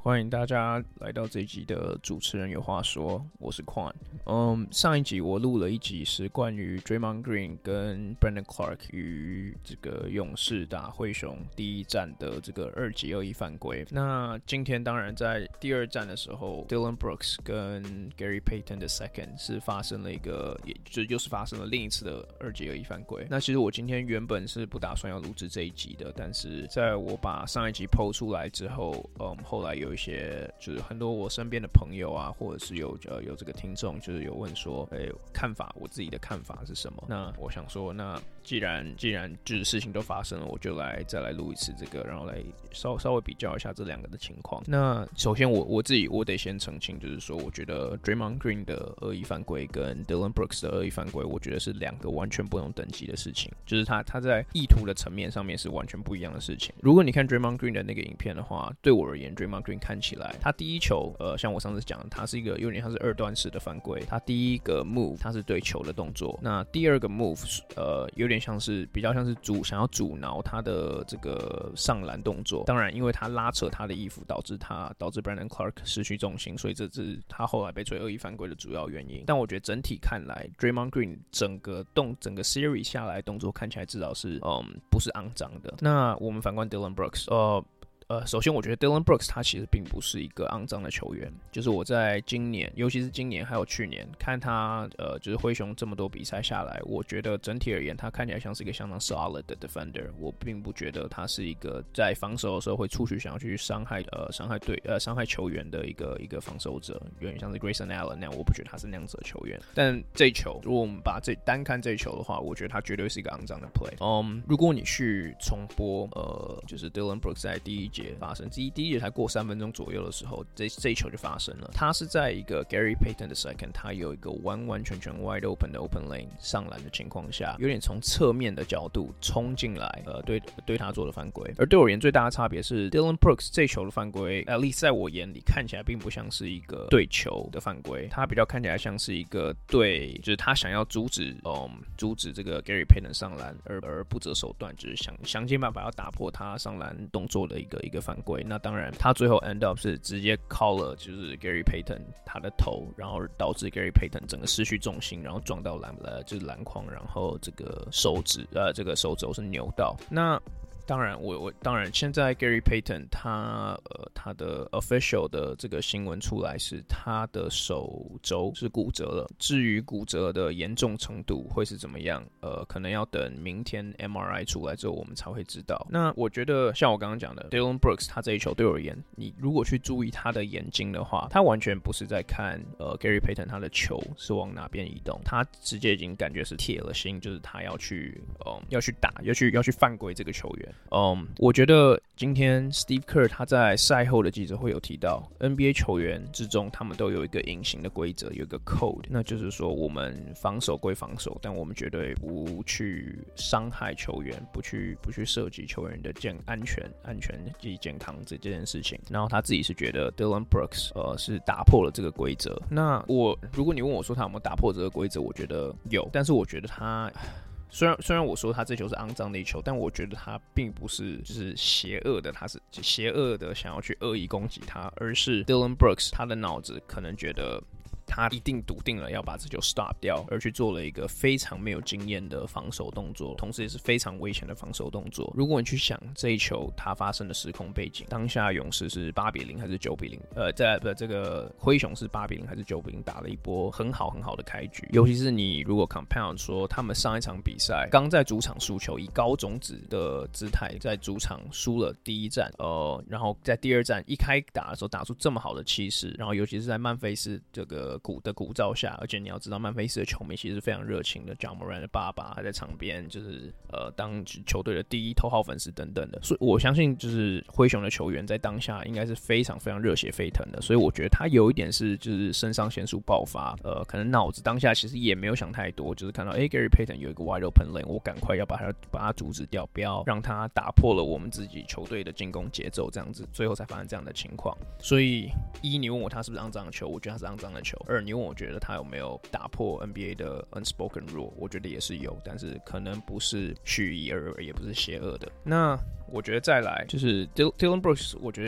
歡迎大家來到這一集的主持人有話說，我是 Quan。上一集我錄了一集是關於 Draymond Green 跟 Brandon Clark 與這個勇士打灰熊第一戰的這個2級惡意犯規。那今天當然在第二戰的時候 ，Dillon Brooks 跟 Gary Payton II 是發生了一個，又是发生了另一次的2級惡意犯規。那其實我今天原本是不打算要錄製這一集的，但是在我把上一集 PO 出來之後，後來有一些就是很多我身邊的朋友啊，或者是有這個聽眾，就是有問說，看法，我自己的看法是什麼？那我想說，那既然就是事情都發生了，我就再來錄一次這個，然後來稍微比較一下這兩個的情況。那首先我自己得先澄清，就是說，我觉得 Draymond Green 的惡意犯規跟 Dillon Brooks 的惡意犯規，我覺得是兩個完全不同等級的事情，就是他在意圖的層面上面是完全不一樣的事情。如果你看 Draymond Green 的那個影片的話，對我而言 Draymond Green 看起來，他第一球，像我上次講的，他是一個有點像是二段式的犯規。他第一個 move 他是对球的動作，那第二個 move 有點像是比較像是想要阻挠他的這個上籃動作。當然，因為他拉扯他的衣服，導致 Brandon Clark 失去重心，所以這是他後來被吹惡意犯規的主要原因。但我覺得整體看來 ，Draymond Green 整個 series 下來動作看起來至少是不是肮髒的。那我們反觀 Dillon Brooks，首先我覺得 Dillon Brooks 他其實並不是一個肮髒的球員，就是我在今年，尤其是今年還有去年看他就是灰熊這麼多比賽下來，我覺得整體而言他看起來像是一個相當 solid 的 defender， 我並不覺得他是一個在防守的時候會出去想要去傷害球員的一個防守者，有點像是 Grayson Allen 那樣，我不覺得他是那樣子的球員。但這一球，如果我們把單看這一球的話，我覺得他絕對是一個肮髒的 play。如果你去重播就是 Dillon Brooks 在第一節發生，第一節才過3分鐘左右的時候，這一球就發生了。他是在一個 Gary Payton II， 他有一個完全 wide open 的 open lane 上籃的情況下，有點從側面的角度衝進來，對他做的犯規。而對我而言最大的差別是 Dillon Brooks 這球的犯規 ，at least 在我眼裡看起來並不像是一個對球的犯規，他比較看起來像是一個就是他想要阻止這個 Gary Payton 上籃，而不擇手段，就是想盡辦法要打破他上籃動作的一個犯規。那當然他最後 end up 是直接 call 了就是 Gary Payton 他的頭，然後導致 Gary Payton 整個失去重心，然後撞到就是籃筐，然後这個手肘是扭到。那当然，当然，现在 Gary Payton 他的 official 的这個新聞出來是他的手肘是骨折了。至於骨折的嚴重程度會是怎麼樣，可能要等明天 MRI 出來之後我們才會知道。那我覺得像我剛剛講的 Dillon Brooks 他這一球對我而言，你如果去注意他的眼睛的話，他完全不是在看Gary Payton 他的球是往哪邊移動，他直接已經感覺是鐵了心，就是他要去打，要去犯規這個球員。我覺得今天 Steve Kerr 他在賽後的記者會有提到 NBA 球員之中他們都有一個隱形的規則，有一個 code， 那就是說我們防守歸防守，但我們絕對不去傷害球員，不去涉及球員的安全及健康這件事情。然後他自己是覺得 Dillon Brooks 是打破了這個規則。那如果你問我說他有沒有打破這個規則，我覺得有，但是我覺得他虽然我說他這球是肮髒的一球，但我覺得他並不是就是邪惡的，他是邪惡的想要去惡意攻擊他，而是 Dillon Brooks 他的腦子可能覺得他一定篤定了要把這球 stop 掉，而去做了一個非常沒有經驗的防守動作，同時也是非常危險的防守動作。如果你去想這一球它發生的時空背景，當下勇士是8-0還是9-0？這個灰熊是8-0還是9-0？打了一波很好的開局。尤其是你如果 compound 說他們上一場比賽剛在主場輸球，以高種子的姿態在主場輸了第一戰，然後在第二戰一開打的時候打出這麼好的氣勢，然後尤其是在曼菲斯這個鼓噪下，而且你要知道曼菲斯的球迷其實是非常熱情的 ，Ja Morant 的爸爸還在場邊，就是當球隊的第一头號粉絲等等的，所以我相信就是灰熊的球員在當下應該是非常非常熱血沸騰的，所以我覺得他有一點是就是腎上腺素爆發，可能腦子當下其實也沒有想太多，就是看到Gary Payton 有一個 wide open lane， 我趕快要把他阻止掉，不要讓他打破了我們自己球隊的進攻節奏，這樣子最後才發生這樣的情況。所以你問我他是不是肮髒的球，我覺得他是肮髒的球。你問我覺得他有沒有打破 NBA 的 unspoken rule， 我覺得也是有，但是可能不是蓄意而也不是邪惡的。那我覺得再來就是 Dillon Brooks， 我覺得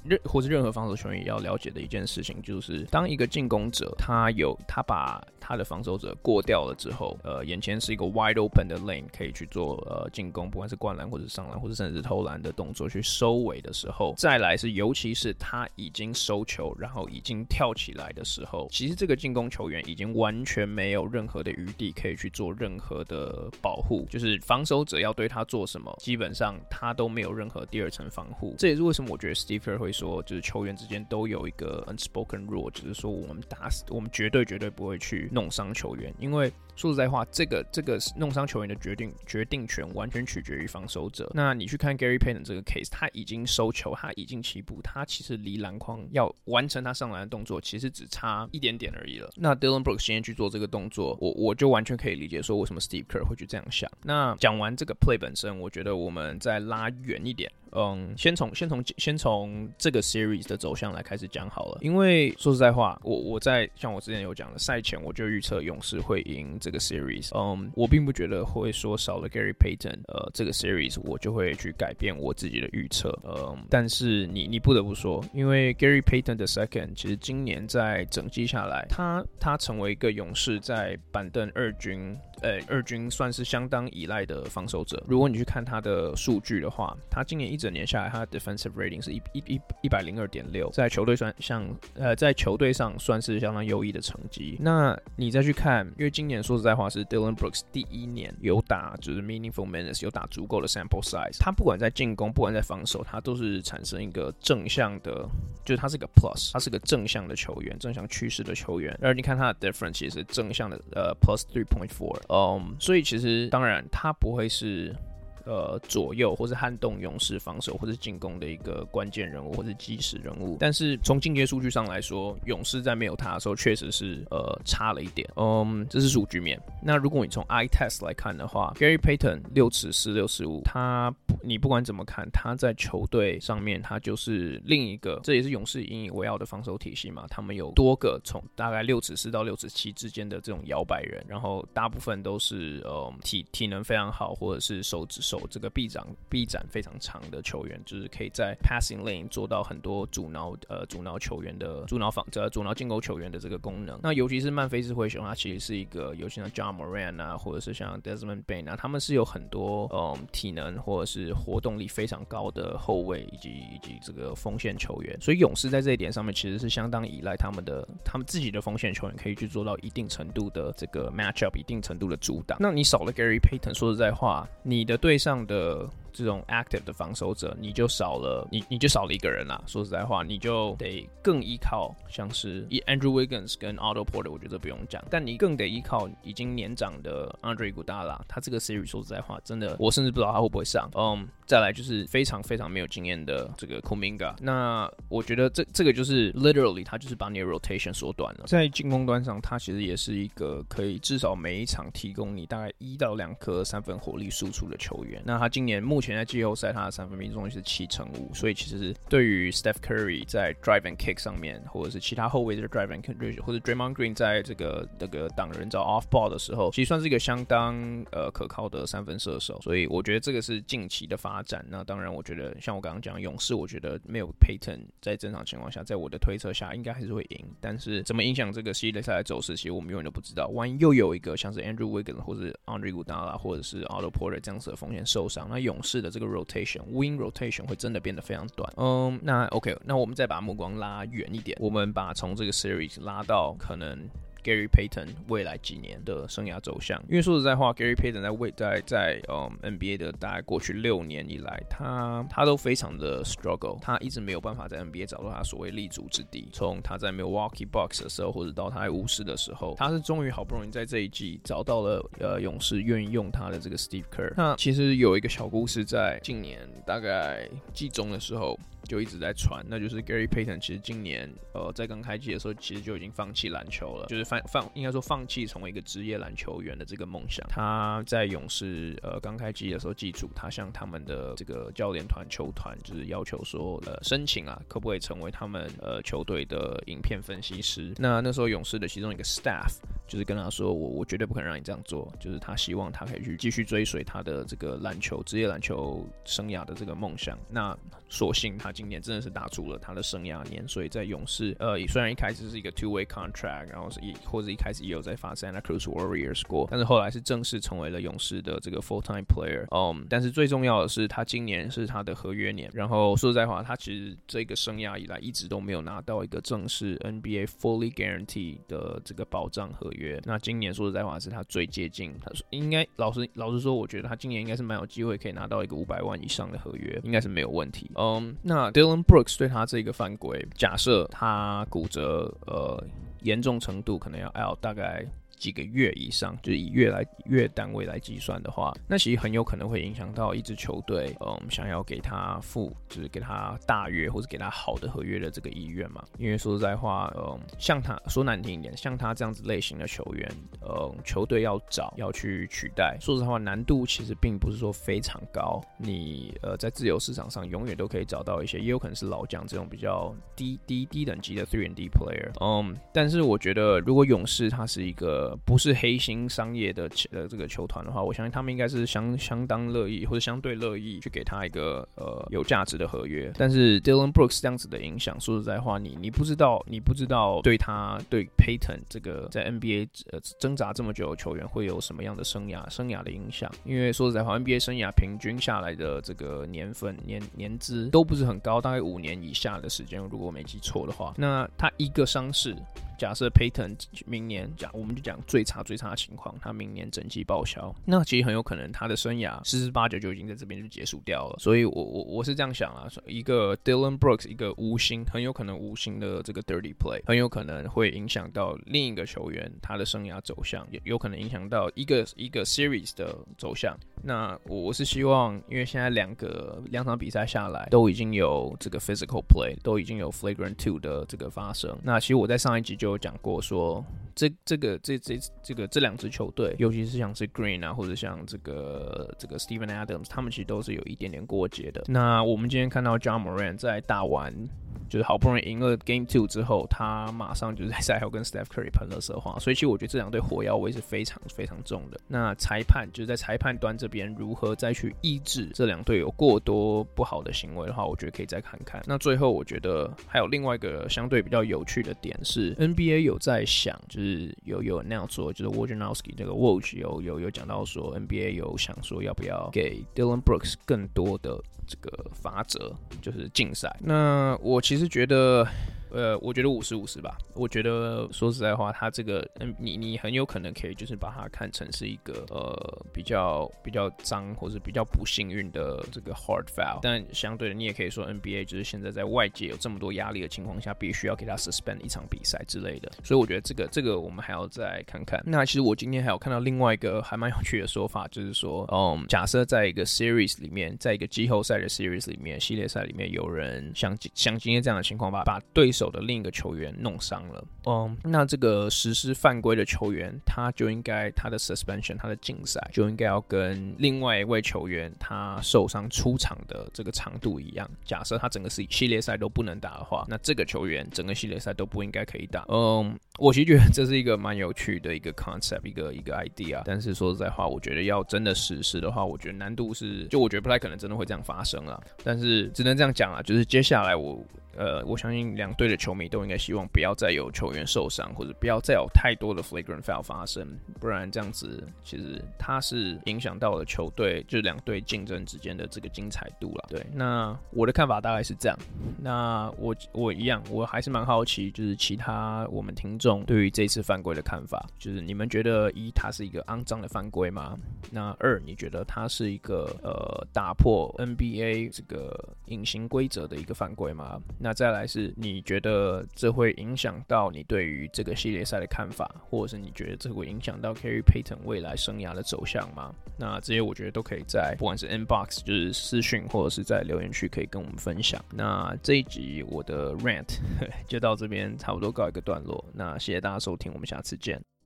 或是任何防守球員也要了解的一件事情，就是當一個進攻者他把他的防守者過掉了之後，眼前是一個 wide open 的 lane 可以去做進攻，不管是灌籃或者上籃或者甚至是投籃的動作去收尾的時候，再來是尤其是他已經收球，然後已經跳起來的時候，其實這個進攻球員已經完全沒有任何的餘地可以去做任何的保護，就是防守者要對他做什麼，基本上他都沒有任何第二層防護。這也是為什麼我覺得 Steve Kerr 會說，就是球員之間都有一個 unspoken rule， 就是說我們絕對不會去弄傷球員，因為說實在話，這個弄傷球员的決定權完全取決於防守者。那你去看 Gary Payton 這個 case， 他已經收球，他已經起步，他其實離籃筐要完成他上籃的動作，其實只差一點點而已了。那 Dillon Brooks 今天去做這個動作，我就完全可以理解說為什麼 Steve Kerr 會去這樣想。那講完這個 play 本身，我覺得我們再拉遠一點。先從這個 series 的走向來開始講好了，因為說實在話，我在像我之前有講的賽前我就預測勇士會贏這個 series，我並不覺得會說少了 Gary Payton，這個 series 我就會去改變我自己的預測，但是你不得不說，因為 Gary Payton the second 其實今年在整季下來，他成為一個勇士在板凳二軍算是相當依賴的防守者。如果你去看他的數據的話，他今年一整年下来，他的 defensive rating 是102.6，在球队上算是相當優異的成績。那你再去看，因為今年說實在話是 Dillon Brooks 第一年有打就是 meaningful minutes， 有打足夠的 sample size， 他不管在進攻，不管在防守，他都是產生一個正向的，就是他是個 plus， 他是個正向的球員，正向趨勢的球員。而你看他的 difference 也是正向的plus 3.4。所以其實當然他不會是左右或是撼動勇士防守或是進攻的一個關鍵人物或是基石人物，但是從進階數據上來說，勇士在沒有他的時候確實是差了一點，這是數據面。那如果你從 eye test 來看的話， Gary Payton 6'4", 你不管怎麼看，他在球隊上面他就是另一個，這也是勇士引以为傲的防守體系嘛，他們有多個從大概6'4" 到6'7" 之間的這種摇擺人，然後大部分都是體能非常好或者是手這個臂展非常長的球員，就是可以在 passing lane 做到很多阻挠球員的阻挠進攻球員的這個功能。那尤其是曼菲斯灰熊，他其實是一個尤其像 Ja Morant 啊，或者是像 Desmond Bane 啊，他們是有很多體能或者是活動力非常高的後衛以及這個鋒線球員。所以勇士在這一點上面其實是相當依賴他們自己的鋒線球員可以去做到一定程度的這個 matchup， 一定程度的阻擋。那你少了 Gary Payton， 說實在話，你的對上的這種 active 的防守者，你就少了一個人啦。說實在話，你就得更依靠像是 Andrew Wiggins 跟 Otto Porter， 我覺得不用講，但你更得依靠已經年長的 Andre Iguodala， 他這個 series 說實在話，真的我甚至不知道他會不會上。再來就是非常非常沒有經驗的這個 Kuminga， 那我覺得這個就是 literally 他就是把你的 rotation 縮短了。在進攻端上，他其實也是一個可以至少每一場提供你大概1到2顆三分火力輸出的球員。那他今年目前在季後賽他的三分命中率是7%，所以其實對於 Steph Curry 在 drive and kick 上面，或者是其他後衛的 drive and kick， 或者 Draymond Green 在這個擋人找 off ball 的時候，其實算是一個相當可靠的三分射手。所以我覺得這個是近期的發展。那當然，我覺得像我剛剛講勇士，我覺得沒有 Payton 在正常情況下，在我的推測下應該還是會贏。但是怎麼影響這個系列賽的走勢，其實我們永遠都不知道。萬一又有一個像是 Andrew Wiggins 或者 Andre Iguodala 或者是 Otto Porter 這樣子的鋒線受傷，那勇士的這個 wing rotation 會真的變得非常短。那 OK， 那我們再把目光拉遠一點，我們把從這個 series 拉到可能Gary Payton 未來幾年的生涯走向，因為說實在話 ，Gary Payton 在NBA 的大概過去6年以來，他都非常的 struggle， 他一直沒有辦法在 NBA 找到他所謂立足之地。從他在 Milwaukee Bucks 的時候，或者到他在巫師的時候，他是終於好不容易在這一季找到了勇士願意用他的這個 Steve Kerr。那其實有一個小故事，在近年大概季中的時候就一直在傳，那就是 Gary Payton 其實今年在剛開季的時候，其實就已經放棄籃球了，就是應該說放棄成為一個職業籃球員的這個夢想。他在勇士剛開季的時候記住，他向他們的這個教練團球團就是要求說申請啊，可不可以成為他們球隊的影片分析師。那時候勇士的其中一個 staff 就是跟他說，我絕對不可能讓你這樣做，就是他希望他可以去繼續追隨他的這個職業籃球生涯的這個夢想。那所幸他今年真的是打出了他的生涯年，所以在勇士雖然一開始是一個 two-way contract， 然後或者一開始也有在發 Santa Cruz Warriors 過，但是後來是正式成為了勇士的這個 full-time player。但是最重要的是他今年是他的合約年，然後說實在話，他其實這個生涯以來一直都沒有拿到一個正式 NBA fully guarantee 的這個保障合約。那今年說實在話是他最接近，他應該老實說，我覺得他今年應該是蠻有機會可以拿到一個500萬以上的合約，應該是沒有問題。那 Dillon Brooks 對他這個犯規，假設他骨折嚴重程度可能要 out 大概幾個月以上，就是以月單位來計算的話，那其實很有可能會影響到一支球隊，想要給他就是給他大約或者給他好的合約的這個意願嘛。因為說實在話，像他說難聽一點，像他這樣子類型的球員，球隊要去取代，說實話難度其實並不是說非常高。你在自由市场上永遠都可以找到一些，也有可能是老将這種比較低等級的 3&D player。但是我覺得如果勇士他是一個不是黑心商業的這個球團的話，我相信他們應該是相當樂意或者相對樂意去給他一個有價值的合約。但是 Dillon Brooks 這樣子的影響，說實在話，你不知道对 Payton 這個在 NBA 掙扎這麼久的球員會有什麼樣的生涯的影響。因為說實在話 NBA 生涯平均下來的這個年資都不是很高，大概5年以下的時間，如果我沒記錯的話。那他一個傷勢，假設 Payton 明年我們就講最差的情況，他明年整季報銷，那其實很有可能他的生涯十之八九就已經在這邊就結束掉了。所以我是這樣想啊，一個 Dillon Brooks 一個很有可能無心的這個 dirty play， 很有可能會影響到另一個球員他的生涯走向，有可能影響到一個 series 的走向。那我是希望，因為現在两場比賽下來都已經有這個 physical play， 都已經有 flagrant 2的這個發生。那其實我在上一集就有講過說，這兩支球隊，尤其是像是 Green 啊，或者像這個 Steven Adams， 他們其實都是有一點點過節的。那我們今天看到 Ja Morant 在打完，就是好不容易贏了 Game 2之後，他馬上就是在賽後跟 Steph Curry 噴垃圾話，所以其實我覺得這兩隊火藥味是非常非常重的。那裁判就是在裁判端這邊如何再去抑制這兩隊有過多不好的行為的話，我覺得可以再看看。那最後我覺得還有另外一個相對比較有趣的點是 ，NBA 有在想，就是有那樣說，就是 Wojnarowski 這個 Woj 有講到說 NBA 有想說要不要給 Dillon Brooks 更多的這個罰則，就是禁賽。那我其實覺得我覺得50-50吧。我覺得說實在話，他這個你很有可能可以就是把它看成是一個比較髒或是比較不幸運的這個 hard foul， 但相對的你也可以說 NBA 就是現在在外界有這麼多壓力的情況下，必須要給他 suspend 一場比賽之類的。所以我覺得這個我們還要再看看。那其實我今天還有看到另外一個還蠻有趣的說法，就是說假設在一個 series 裡面，在一個季後賽的 series 裡面，系列賽裡面有人像今天這樣的情況把對手的另一個球員弄傷了，那這個實施犯規的球員，他就應該他的 suspension， 他的禁賽就應該要跟另外一位球員他受傷出場的這個長度一樣。假設他整個系列賽都不能打的話，那這個球員整個系列賽都不應該可以打。我其實覺得這是一個蠻有趣的一個 concept， 一個 idea。但是說實在話，我覺得要真的實施的話，我覺得難度是，就我覺得不太可能真的會這樣發生啦。但是只能這樣講啦，就是接下來我相信兩隊的球迷都應該希望不要再有球員受傷，或者不要再有太多的 flagrant foul 發生，不然這樣子其實它是影響到了球隊，就是兩隊競爭之間的這個精彩度啦。對，那我的看法大概是這樣。那我一樣，我還是蠻好奇，就是其他我們聽眾對於這次犯規的看法，就是你們覺得一，它是一個骯髒的犯規嗎？那二，你覺得它是一個打破 NBA 這個隱形規則的一個犯規嗎？那再來是你覺得這會影響到你對於這個系列賽的看法，或者是你覺得這會影響到 Gary Payton 未來生涯的走向嗎？那這些我覺得都可以在不管是 inbox 就是私訊，或者是在留言區可以跟我們分享。那這一集我的 rant 就到這邊差不多告一個段落，那謝謝大家收聽，我們下次見。